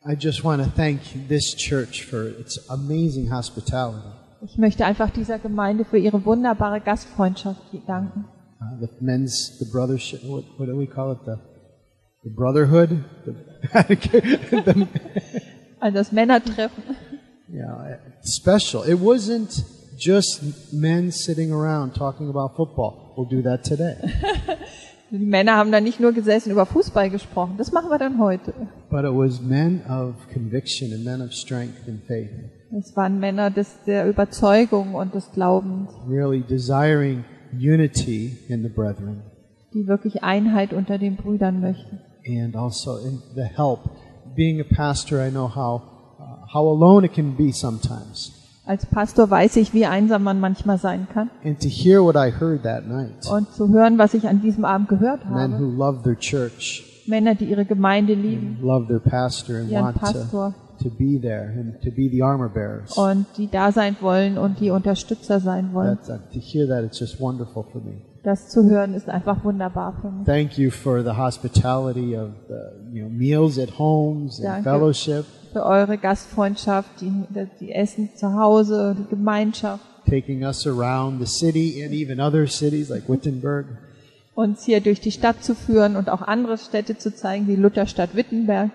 I just want to thank this church for its amazing hospitality. Ich möchte einfach dieser Gemeinde für ihre wunderbare Gastfreundschaft danken. The brothership, what do we call it? The brotherhood? Also das Männertreffen. Yeah, special. It wasn't just men sitting around talking about football. We'll do that today. Die Männer haben da nicht nur gesessen über Fußball gesprochen. Das machen wir dann heute. But it was men of conviction and men of strength and faith. Es waren Männer der Überzeugung und des Glaubens. Really desiring unity in the brethren. Die wirklich Einheit unter den Brüdern möchten. And also in the help. Being a pastor, I know how alone it can be sometimes. Als Pastor weiß ich, wie einsam man manchmal sein kann. And to hear what I heard that night. Und zu hören, was ich an diesem Abend gehört habe. Men who love their church. Männer, die ihre Gemeinde lieben. Love their pastor and ihren want Pastor. To be there and to be the armor bearers. Und die da sein wollen und die Unterstützer sein wollen. To hear that, it's just wonderful for me. Das zu hören ist einfach wunderbar für mich. Thank you for the hospitality of the meals at homes and fellowship. Für eure Gastfreundschaft, die Essen zu Hause, die Gemeinschaft. Taking us around the city and even other cities like Wittenberg. Uns hier durch die Stadt zu führen und auch andere Städte zu zeigen, wie Lutherstadt Wittenberg.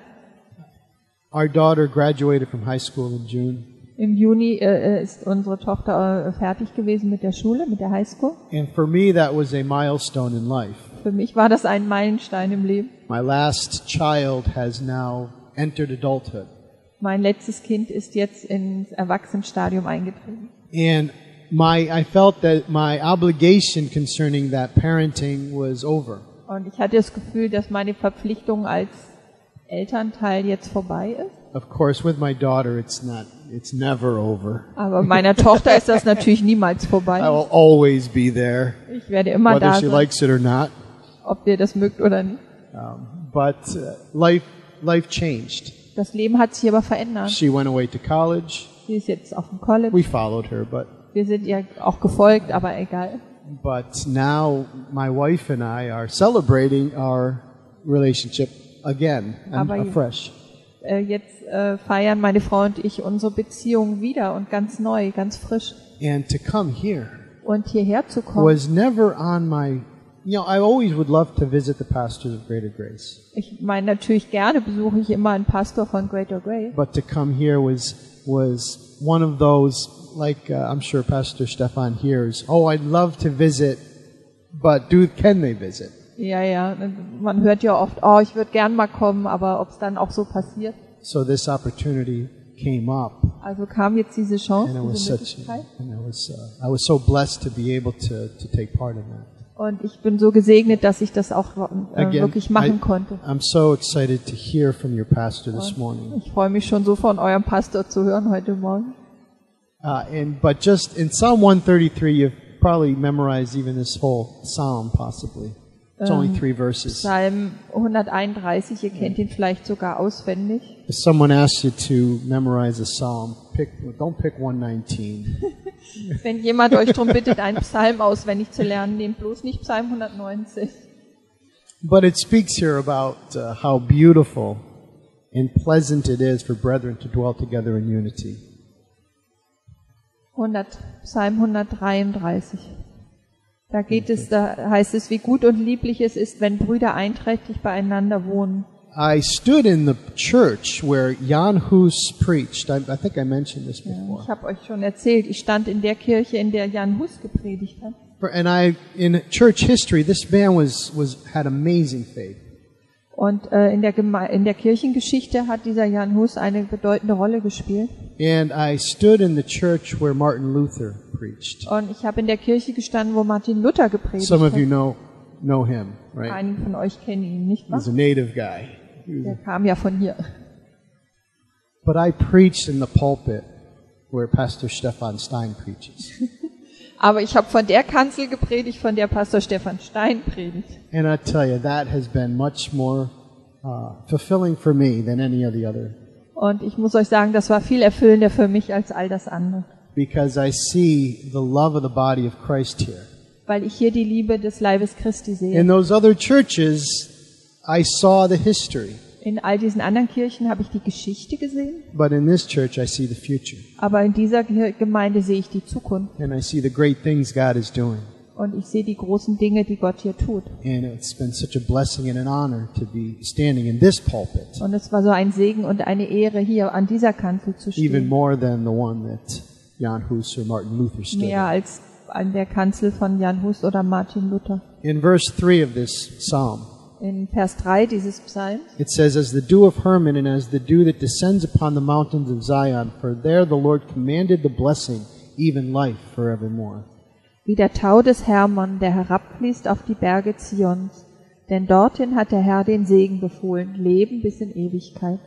Our daughter graduated from high school in June. Im Juni ist unsere Tochter fertig gewesen mit der Schule, mit der Highschool. And for me that was a milestone in life. Für mich war das ein Meilenstein im Leben. My last child has now entered adulthood. Mein letztes Kind ist jetzt ins Erwachsenenstadium eingetreten. And I felt that my obligation concerning that parenting was over. Und ich hatte das Gefühl, dass meine Verpflichtung als Elternteil jetzt vorbei ist. Of course, with my daughter, it's never over. Aber meiner Tochter ist das natürlich niemals vorbei. I will always be there. Ich werde immer da sein, whether she likes it or not. Ob ihr das mögt oder nicht. But life changed. Das Leben hat sich aber verändert. She went away to college. Sie ist jetzt auf dem College. We followed her, but wir sind ihr auch gefolgt, aber egal. But now my wife and I are celebrating our relationship again and afresh. Jetzt feiern meine Frau und ich unsere Beziehung wieder und ganz neu, ganz frisch. And to come here und hierher zu kommen was never on my, I always would love to visit the pastors of Greater Grace. Ich meine, natürlich gerne besuche ich immer einen Pastor von Greater Grace. But to come here was one of those, like I'm sure Pastor Stefan hears, oh, I'd love to visit, but can they visit? Ja, man hört ja oft, oh, ich würde gern mal kommen, aber ob es dann auch so passiert. So this opportunity came up. Also kam jetzt diese Chance, diese Möglichkeit. I was so blessed to be able to take part in that. Und ich bin so gesegnet, dass ich das auch wirklich machen konnte. I'm so excited to hear from your pastor this morning. Ich freue mich schon so von eurem Pastor zu hören heute Morgen. But just in Psalm 133, you've probably memorized even this whole psalm, possibly. It's only 3 verses. Psalm 131, ihr kennt ihn vielleicht sogar auswendig. If someone asks you to memorize a psalm, don't pick 119. Wenn jemand euch darum bittet, einen Psalm auswendig zu lernen, nehmt bloß nicht Psalm 190. But it speaks here about how beautiful and pleasant it is for brethren to dwell together in unity. Psalm 133. Da heißt es, wie gut und lieblich es ist, wenn Brüder einträchtig beieinander wohnen. I stood in the church where Jan Hus preached. I think I mentioned this before. Ich habe euch schon erzählt, ich stand in der Kirche, in der Jan Hus gepredigt hat. And in church history, this man had amazing faith. Und in der Kirchengeschichte hat dieser Jan Hus eine bedeutende Rolle gespielt. And I stood in the church where Martin Luther preached. Und ich habe in der Kirche gestanden, wo Martin Luther gepredigt hat. Some of you know him, right? Einige von euch kennen ihn, nicht wahr? He's a native guy. Der kam ja von hier. But I preached in the pulpit where Pastor Stefan Stein preaches. Aber ich habe von der Kanzel gepredigt, von der Pastor Stefan Stein predigt. And I tell you, that has been much more fulfilling for me than any of the other. Und ich muss euch sagen, das war viel erfüllender für mich als all das andere. Because I see the love of the body of Christ here. Weil ich hier die Liebe des Leibes Christi sehe. In those other churches, I saw the history. In all diesen anderen Kirchen habe ich die Geschichte gesehen, but in this church I see the future. aber in dieser Gemeinde sehe ich die Zukunft. And I see the great things God is doing. Und ich sehe die großen Dinge, die Gott hier tut. And it's been such a blessing and an honor to be standing in this pulpit, Und es war so ein Segen und eine Ehre, hier an dieser Kanzel zu even stehen. more than the one that Jan Hus or Martin Luther stood Mehr in. als an der Kanzel von Jan Hus oder Martin Luther. In verse 3 of this psalm, In Vers 3 dieses Psalms, it says, "As the dew of Hermon and as the dew that descends upon the mountains of Zion, for there the Lord commanded the blessing, even life forevermore." wie der Tau des Hermon, der herabfließt auf die Berge Zions. Denn dorthin hat der Herr den Segen befohlen, Leben bis in Ewigkeit.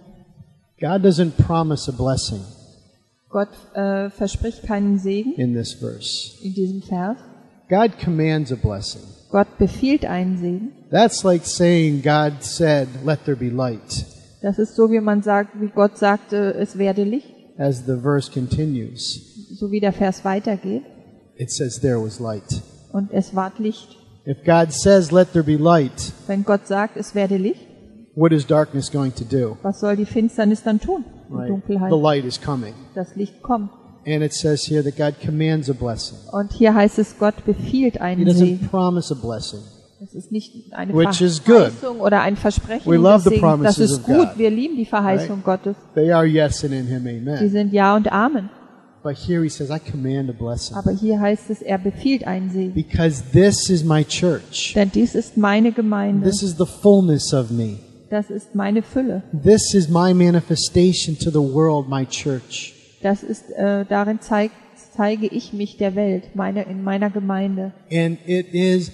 God doesn't promise a blessing Gott verspricht keinen Segen in this verse. in diesem Vers. God commands a blessing. Gott befiehlt einen Segen. That's like saying God said, "Let there be light." Das ist so, wie man sagt, wie Gott sagte, es werde Licht. As the verse continues, So wie der Vers weitergeht. it says there was light. Und es ward Licht. If God says, "Let there be light," Wenn Gott sagt, es werde Licht, what is darkness going to do? was soll die Finsternis dann tun? Die Right? Dunkelheit. The light is coming. Das Licht kommt. And it says here that God commands a blessing. Und hier heißt es, Gott befiehlt He einen doesn't Segen. promise a blessing. Es ist nicht eine Which is good. Verheißung oder ein Versprechen We love des the Segens. Das promises ist of gut. God. Wir lieben die Verheißung Gottes. They are yes and in Him, Die amen. sind Ja und Amen. But here He says, "I command a blessing." Aber hier heißt es, er befiehlt einen Segen. Because this is my church. Denn dies ist meine Gemeinde. This is the fullness of me. Das ist meine Fülle. This is my manifestation to the world, my church. Das ist, darin zeige ich mich der Welt, in meiner Gemeinde. And it is,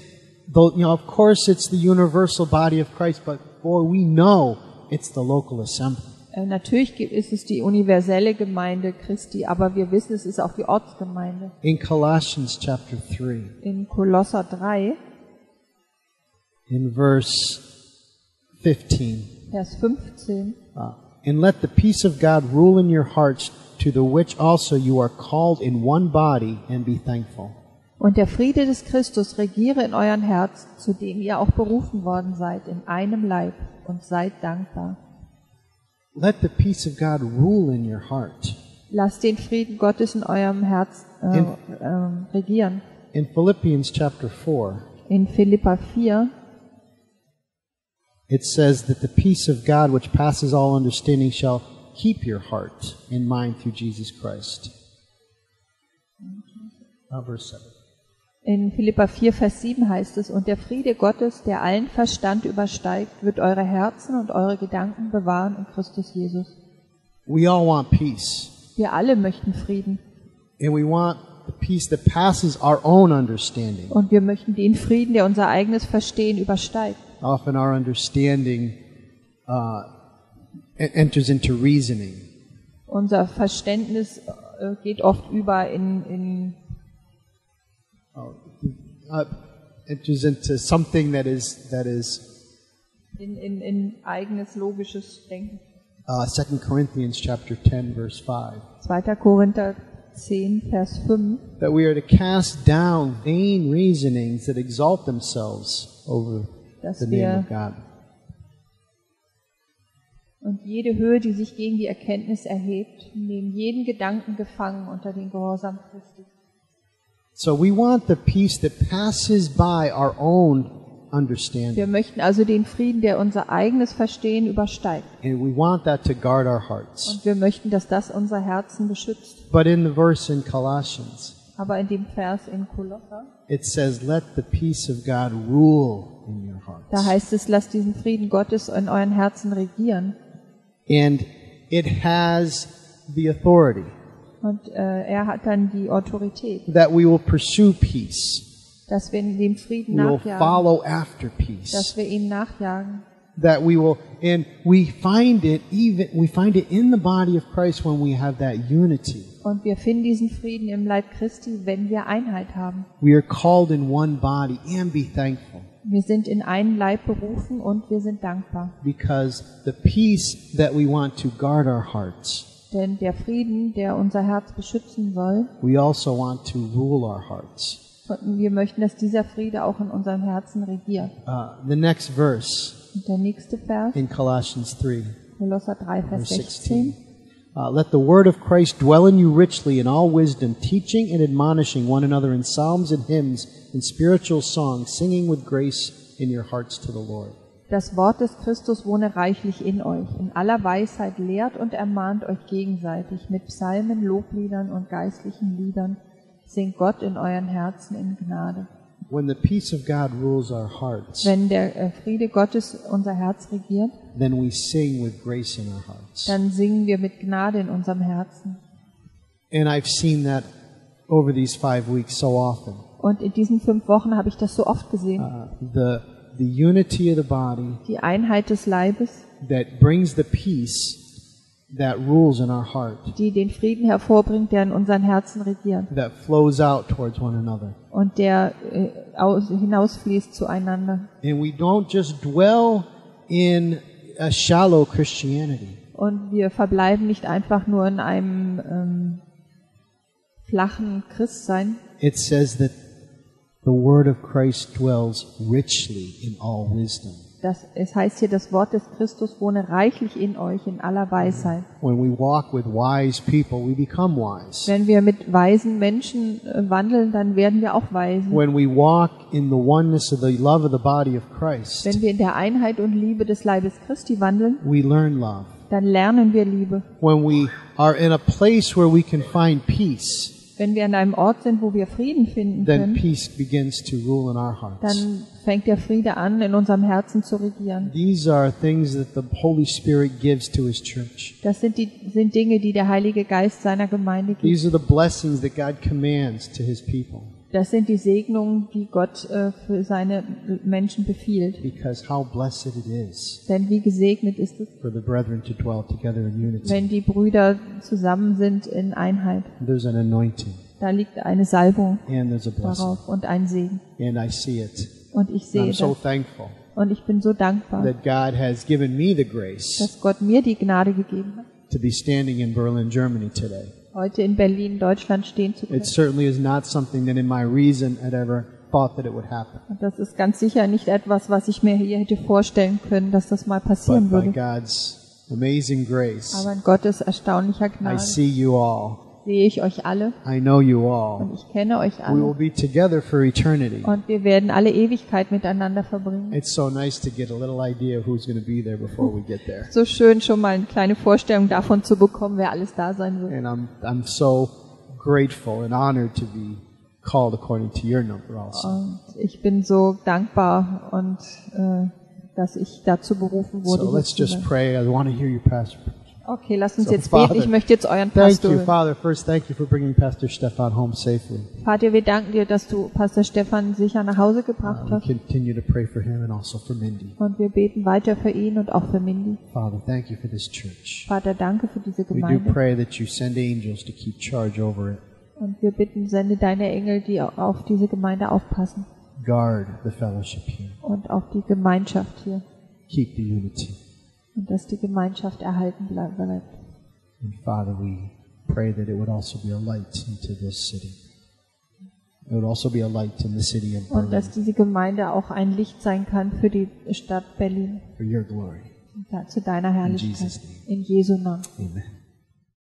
of course it's the universal body of Christ, but boy, we know it's the local assembly. Natürlich ist es die universelle Gemeinde Christi, aber wir wissen, es ist auch die Ortsgemeinde. In Colossians chapter 3, In Kolosser 3, in verse 15, Vers 15. "And let the peace of God rule in your hearts, to the which also you are called in one body, and be thankful." Und der Friede des Christus regiere in euren Herzen, zu dem ihr auch berufen worden seid, in einem Leib, und seid dankbar. Let the peace of God rule in your heart. Lasst den Frieden Gottes in eurem Herz regieren. In Philippians chapter 4, In Philippa 4 it says that the peace of God, which passes all understanding, shall keep your heart and mind through Jesus Christ. Verse 7. In Philippa 4, Vers 7 heißt es, und der Friede Gottes, der allen Verstand übersteigt, wird eure Herzen und eure Gedanken bewahren in Christus Jesus. We all want peace. Wir alle möchten Frieden. And we want the peace that passes our own understanding. Und wir möchten den Frieden, der unser eigenes Verstehen übersteigt. Often our understanding enters into reasoning. Unser Verständnis geht oft über in Enters into something that is eigenes logisches Denken. 2 Corinthians chapter 10 verse 5. 2. Korinther 10, Vers 5. That we are to cast down vain reasonings that exalt themselves over Dass the name wir of God. und jede Höhe, die sich gegen die Erkenntnis erhebt, nehmen jeden Gedanken gefangen unter den Gehorsam Christi. So we want the peace that passes by our own understanding. Wir möchten also den Frieden, der unser eigenes Verstehen übersteigt. And we want that to guard our hearts. Und wir möchten, dass das unser Herzen beschützt. But in the verse in Colossians, Aber in dem Vers in Kolosser, it says, "Let the peace of God rule in your hearts." da heißt es, lasst diesen Frieden Gottes in euren Herzen regieren. And it has the authority Und er hat dann die Autorität, that we will pursue peace. dass wir dem Frieden We will nachjagen, follow after peace. dass wir ihm nachjagen. That we will, and we find it in the body of Christ when we have that unity. Und wir finden diesen Frieden im Leib Christi, wenn wir Einheit haben. We are called in one body, and be thankful, Wir sind in einen Leib berufen und wir sind dankbar. because the peace that we want to guard our hearts, Denn der Frieden, der unser Herz beschützen soll, we also want to rule our hearts. wir möchten, dass dieser Friede auch in unserem Herzen regiert. The next verse Und der nächste Vers, in Colossians 3, Kolosser 3, Vers verse 16. 16. Let the word of Christ dwell in you richly in all wisdom, teaching and admonishing one another in psalms and hymns and spiritual songs, singing with grace in your hearts to the Lord. Das Wort des Christus wohne reichlich in euch. In aller Weisheit lehrt und ermahnt euch gegenseitig mit Psalmen, Lobliedern und geistlichen Liedern. Singt Gott in euren Herzen in Gnade. When the peace of God rules our hearts, Wenn der Friede Gottes unser Herz regiert, then we sing with grace in our hearts. dann singen wir mit Gnade in unserem Herzen. And I've seen that over these 5 weeks so often. Und in diesen 5 Wochen habe ich das so oft gesehen. The unity of the body Die Einheit des Leibes, that brings the peace that rules in our heart, die den Frieden hervorbringt, der in unseren Herzen regiert that flows out towards one another. und der hinausfließt zueinander. And we don't just dwell in a shallow Christianity. Und wir verbleiben nicht einfach nur in einem flachen Christsein. It says that the word of Christ dwells richly in all wisdom. Es heißt hier, das Wort des Christus wohne reichlich in euch in aller Weisheit. When we walk with wise people, we become wise. Wenn wir mit weisen Menschen wandeln, dann werden wir auch weise. When we walk in the oneness of the love of the body of Christ, Wenn wir in der Einheit und Liebe des Leibes Christi wandeln, we learn love. dann lernen wir Liebe. When we are in a place where we can find peace, Wenn wir an einem Ort sind, wo wir Frieden finden then können, peace begins to rule in our hearts. dann fängt der Friede an, in unserem Herzen zu regieren. These are things that the Holy Spirit gives to His church. Das sind Dinge, die der Heilige Geist seiner Gemeinde gibt. These are the blessings that God commands to His people. Das sind die Segnungen, die Gott für seine Menschen befiehlt. Because how blessed it is Denn wie gesegnet ist es, for the brethren to dwell together in unity. wenn die Brüder zusammen sind in Einheit. There's an anointing Da liegt eine Salbung and there's a blessing. darauf und ein Segen. And I see it. Und ich I'm sehe so das. thankful Und ich bin so dankbar, that God has given me the grace dass Gott mir die Gnade gegeben hat, to be standing in Berlin, Germany today. heute in Berlin, Deutschland stehen zu können. It certainly is not something that in my reason had ever thought that it would happen. Und das ist ganz sicher nicht etwas, was ich mir hier hätte vorstellen können, dass das mal passieren But by würde. God's amazing grace, Aber in Gottes erstaunlicher I Gnade see you all. sehe ich euch alle I know you und all. ich kenne euch We will alle. be together for eternity. Und wir werden alle Ewigkeit miteinander verbringen. It's so nice to get a little idea of who's going to be there before we get there. So schön, schon mal eine kleine Vorstellung davon zu bekommen, wer alles da sein wird. And I'm so grateful and honored to be called according to your number also. Und ich bin so dankbar und dass ich dazu berufen wurde. So hier let's zu just sein. pray. I want to hear you, Pastor. Okay, lass uns So, jetzt beten. Father, Ich möchte jetzt euren Thank Pastor you, hören. Father. First, thank you for bringing Pastor Stefan home safely. Vater, wir danken dir, dass du Pastor Stefan sicher nach Hause gebracht We hast. continue to pray for him and also for Mindy. Und wir beten weiter für ihn und auch für Mindy. Father, thank you for this church. Vater, danke für diese We do Gemeinde. pray that you send angels to keep charge over it. Und wir bitten, sende deine Engel, die auf diese Gemeinde aufpassen Guard the fellowship here. und auf die Gemeinschaft hier. Keep the unity. Und dass die Gemeinschaft erhalten bleibt. And Father, we pray that it would also be a light into this city. It would also be a light in the city of Und Berlin dass diese Gemeinde auch ein Licht sein kann für die Stadt Berlin. for your glory. Zu deiner Herrlichkeit. Jesus' name. In Jesu Namen. Amen.